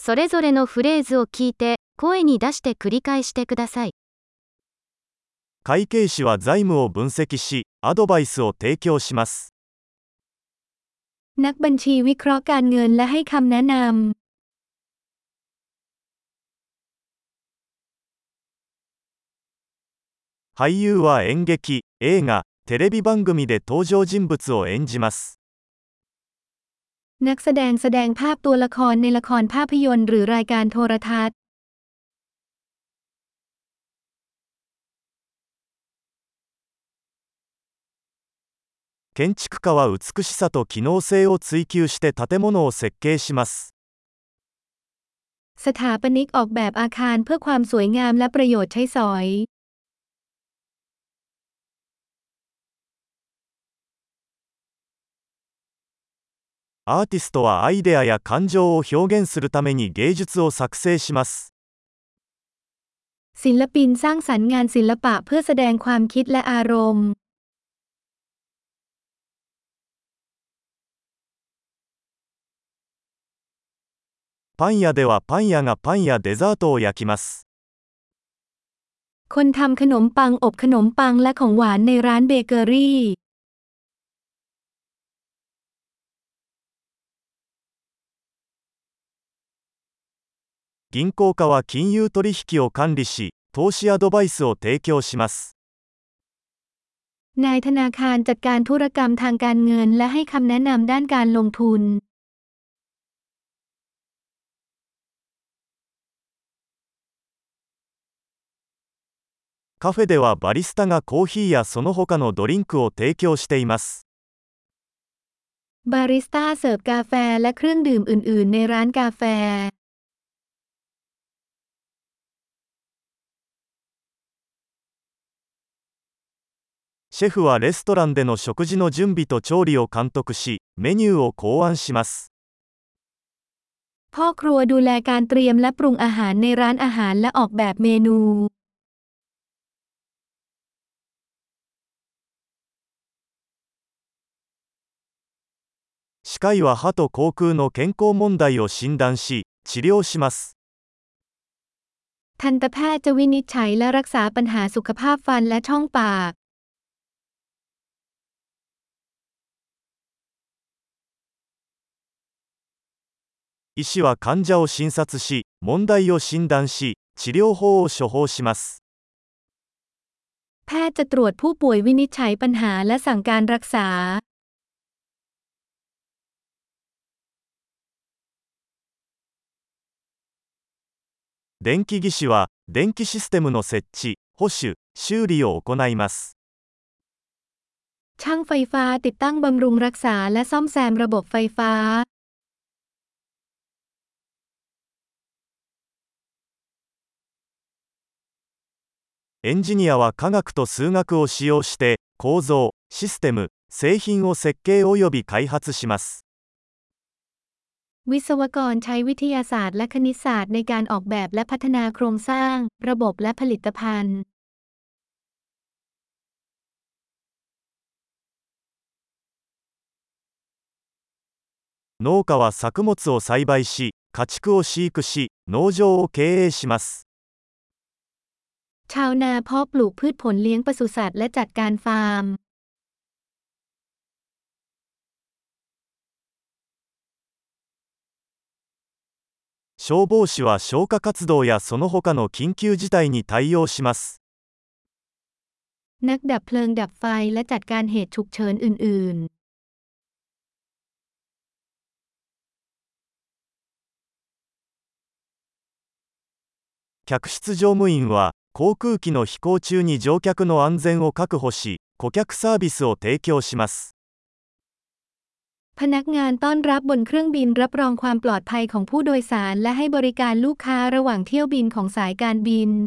それぞれのフレーズを聞いて、声に出して繰り返してください。 会計士は財務を分析し、アドバイスを提供します。 นักบัญชีวิเคราะห์การเงินและให้คำแนะนำ俳優は演劇、映画、テレビ番組で登場人物を演じます。 นักแสดงแสดงภาพตัวละครในละครภาพยนตร์หรือรายการโทรทัศน์建築家は美しさと機能性を追求して建物を設計します。 สถาปนิกออกแบบอาคารเพื่อความสวยงามและประโยชน์ใช้สอยアーティストはアイデアや感情を表現するために芸術を作成します。 ศิลปินสร้างสรรค์งานศิลปะเพื่อแสดงความคิดและอารมณ์パン屋ではパン屋がパンやデザートを焼きます。 คนทำขนมปังอบขนมปังและของหวานในร้านเบเกอรี่銀行家は金融取引を管理し、投資アドバイスを提供します。 นายธนาคารจัดการธุรกรรมทางการเงินและให้คำแนะนำด้านการลงทุนカフェではバリスタがコーヒーやその他のドリンクを提供しています。 บาริสต้าเสิร์ฟกาแฟและเครื่องดื่มอื่นๆในร้านกาแฟシェフはレストランでの食事の準備と調理を監督し、メニューを考案します。 พ่อครัวดูแลการเตรียมและปรุงอาหารในร้านอาหารและออกแบบเมนู歯科医は歯と口腔の健康問題を診断し、治療します。 ทันตแพทย์จะวินิจฉัยและรักษาปัญหาสุขภาพฟันและช่องปาก医師は患者を診察し、問題を診断し、治療法を処方します。 แพทย์จะตรวจผู้ป่วยวินิจฉัยปัญหาและสั่งการรักษา電気技師は電気システムの設置、保守、修理を行います。 ช่างไฟฟ้าติดตั้งบำรุงรักษาและซ่อมแซมระบบไฟฟ้าエンジニアは科学と数学を使用して構造、システム、製品を設計および開発します。 วิศวกรใช้วิทยาศาสตร์และคณิตศาสตร์ในการออกแบบและพัฒนาโครงสร้างระบบและผลิตภัณฑ์農家は作物を栽培し、家畜を飼育し、農場を経営します。 ชาวนาเพาะปลูกพืชผลเลี้ยงปศุสัตว์และจัดการฟาร์ม消防士は消火活動やその他の緊急事態に対応します。 นักดับเพลิงดับไฟและจัดการเหตุฉุกเฉินอื่น客室乗務員は航空機の飛行中に乗客の安全を確保し、顧客サービスを提供します。 พนักงานต้อนรับบนเครื่องบินรับรองความปลอดภัยของผู้โดยสารและให้บริการลูกค้าระหว่างเที่ยวบินของสายการบิน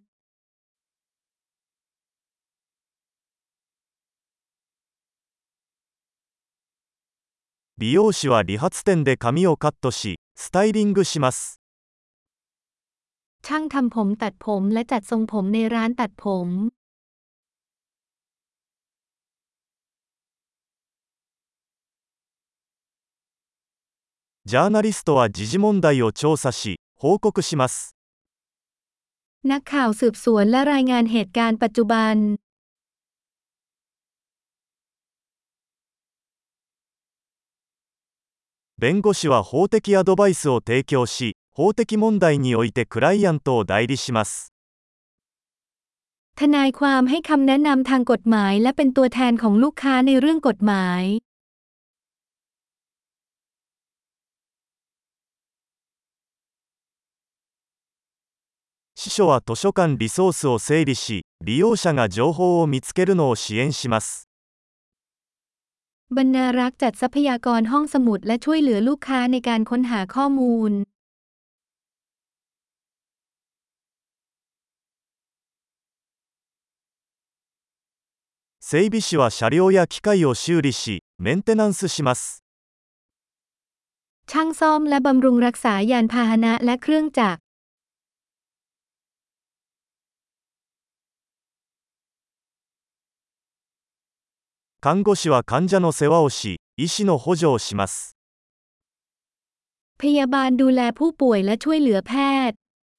美容師は理髪店で髪をカットし、スタイリングします。 ช่างทำผมตัดผมและจัดทรงผมในร้านตัดผมジャーナリストは時事問題を調査し、 報告します。 นักข่าวสืบสวนและรายงานเหตุการณ์ปัจจุบัน弁護士は法的アドバイスを提供し、法的問題においてクライアントを代理します。 ทนายความให้คำแนะนำทางกฎหมายและเป็นตัวแทนของลูกค้าในเรื่องกฎหมาย司書は図書館リソースを整理し、利用者が情報を見つけるのを支援します。 บรรณารักษ์จัดทรัพยากรห้องสมุดและช่วยเหลือลูกค้าในการค้นหาข้อมูล整備士は車両や機械を修理し、メンテナンスします。 ช่างซ่อมและบำรุงรักษายานพาหนะและเครื่องจักร看護師は患者の世話をし、医師の補助をします。 พยาบาลดูแลผู้ป่วยและช่วยเหลือแพทย์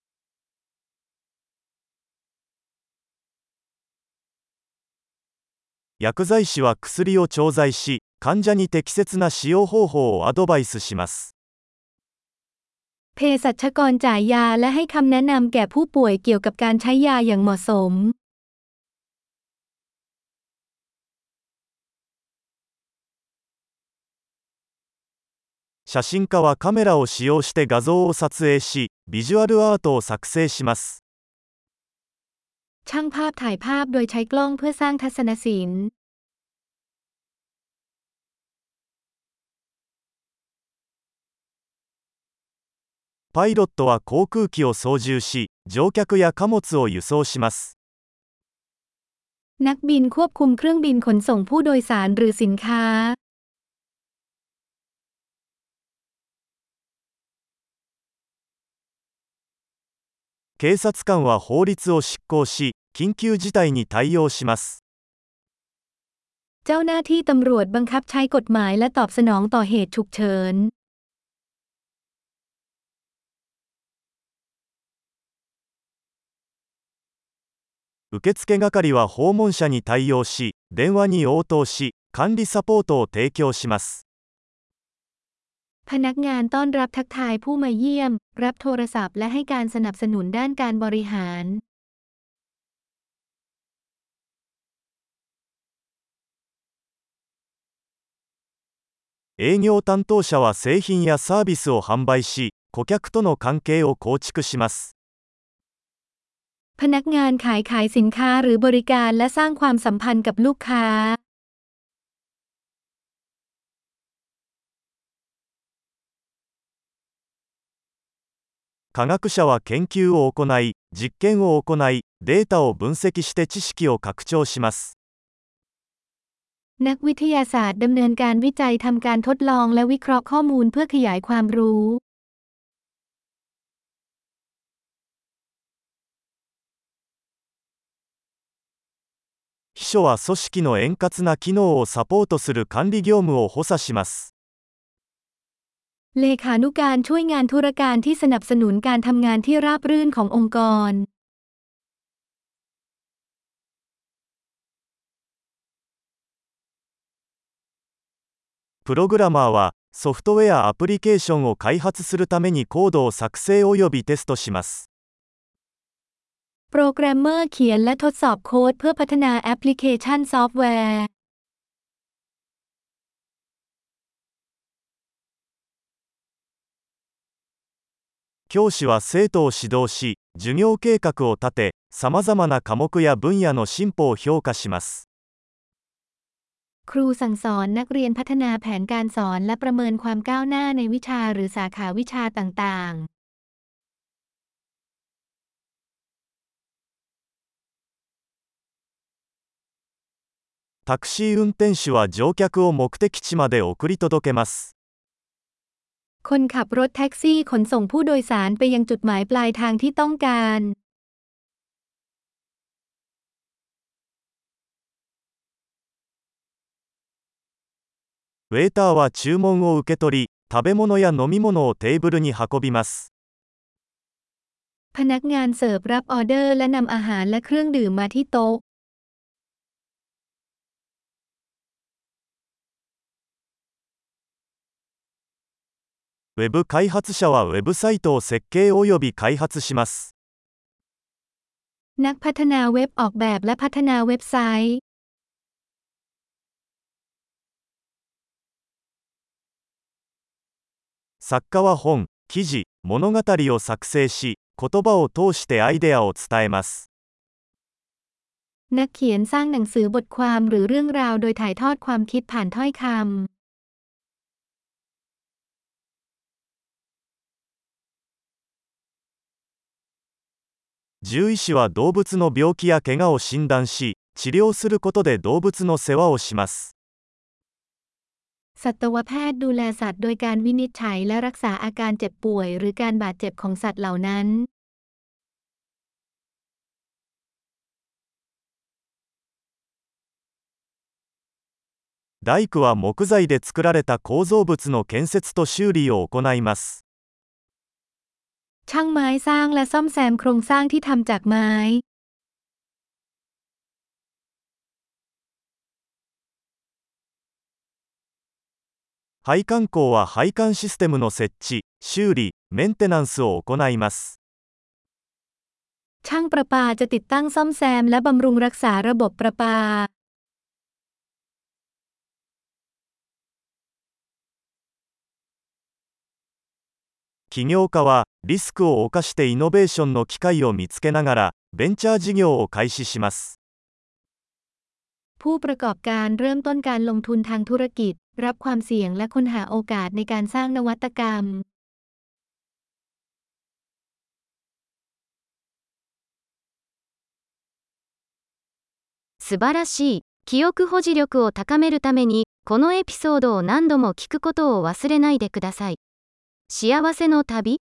薬剤師は薬を調剤し、患者に適切な使用方法をアドバイスします。 เภสัชกรจ่ายยาและให้คำแนะนำแก่ผู้ป่วยเกี่ยวกับการใช้ยาอย่างเหมาะสม写真家はカメラを使用して画像を撮影し、ビジュアルアートを作成します。 ช่างภาพถ่ายภาพโดยใช้กล้องเพื่อสร้างทัศนศิลป์パイロットは航空機を操縦し、乗客や貨物を輸送します。 นักบินควบคุมเครื่องบินขนส่งผู้โดยสารหรือสินค้า警察官は法律を執行し、緊急事態に対応します。 เจ้าหน้าที่ตำรวจบังคับใช้กฎหมายและตอบสนองต่อเหตุฉุกเฉิน受付係は訪問者に対応し、電話に応答し、管理サポートを提供します。 พนักงานต้อนรับทักทายผู้มาเยี่ยมรับโทรศัพท์และให้การสนับสนุนด้านการบริหาร営業担当者は製品やサービスを販売し、顧客との関係を構築します。 พนักงานขายสินค้าหรือบริการและสร้างความสัมพันธ์กับลูกค้า科学者は研究を行い、実験を行い、データを分析して知識を拡張します。 นักวิทยาศาสตร์ดำเนินการวิจัยทำการทดลองและวิเคราะห์ข้อมูลเพื่อขยายความรู้秘書は組織の円滑な機能をサポートする管理業務を補佐します。 เลขานุการช่วยงานธุรการที่สนับสนุนการทำงานที่ราบรื่นขององค์กรプログラマーはソフトウェアアプリケーションを開発するためにコードを作成およびテストします。 โปรแกรมเมอร์เขียนและทดสอบโค้ดเพื่อพัฒนาแอปพลิเคชันซอฟต์แวร์教師は生徒を指導し、授業計画を立て、さまざまな科目や分野の進歩を評価します。 ครูสั่งสอนนักเรียนพัฒนาแผนการสอนและประเมินความก้าวหน้าในวิชาหรือสาขาวิชาต่างๆタクシー運転手は乗客を目的地まで送り届けます。 คนขับรถแท็กซี่ขนส่งผู้โดยสารไปยังจุดหมายปลายทางที่ต้องการウェーターは注文を受け取り、食べ物や飲み物をテーブルに運びます。 พนักงานเสิร์ฟรับออเดอร์และนำอาหารและเครื่องดื่มมาที่โต๊ะウェブ開発者はウェブサイトを設計および開発します。 นักพัฒนาเว็บออกแบบและพัฒนาเว็บไซต์作家は本、記事、物語を作成し、言葉を通してアイデアを伝えます。 นักเขียนสร้างหนังสือบทความหรือเรื่องราวโดยถ่ายทอดความคิดผ่านถ้อยคำ獣医師は動物の病気や怪我を診断し、治療することで動物の世話をします。 สัตวแพทย์ดูแลสัตว์โดยการวินิจฉัยและรักษาอาการเจ็บป่วยหรือการบาดเจ็บของสัตว์เหล่านั้น大工は木材で作られた構造物の建設と修理を行います。 ช่างไม้สร้างและซ่อมแซมโครงสร้างที่ทำจากไม้配管工は配管システムの設置、修理、メンテナンスを行います。 ช่างประปาจะติดตั้งซ่อมแซมและบำรุงรักษาระบบประปา起業家はリスクを冒してイノベーションの機会を見つけながらベンチャー事業を開始します。 ผู้ประกอบการเริ่มต้นการลงทุนทางธุรกิจรับความเสี่ยงและค้นหาโอกาสในการสร้างนวัตกรรม素晴らしい。記憶保持力を高めるために、このエピソードを何度も聞くことを忘れないでください。幸せの旅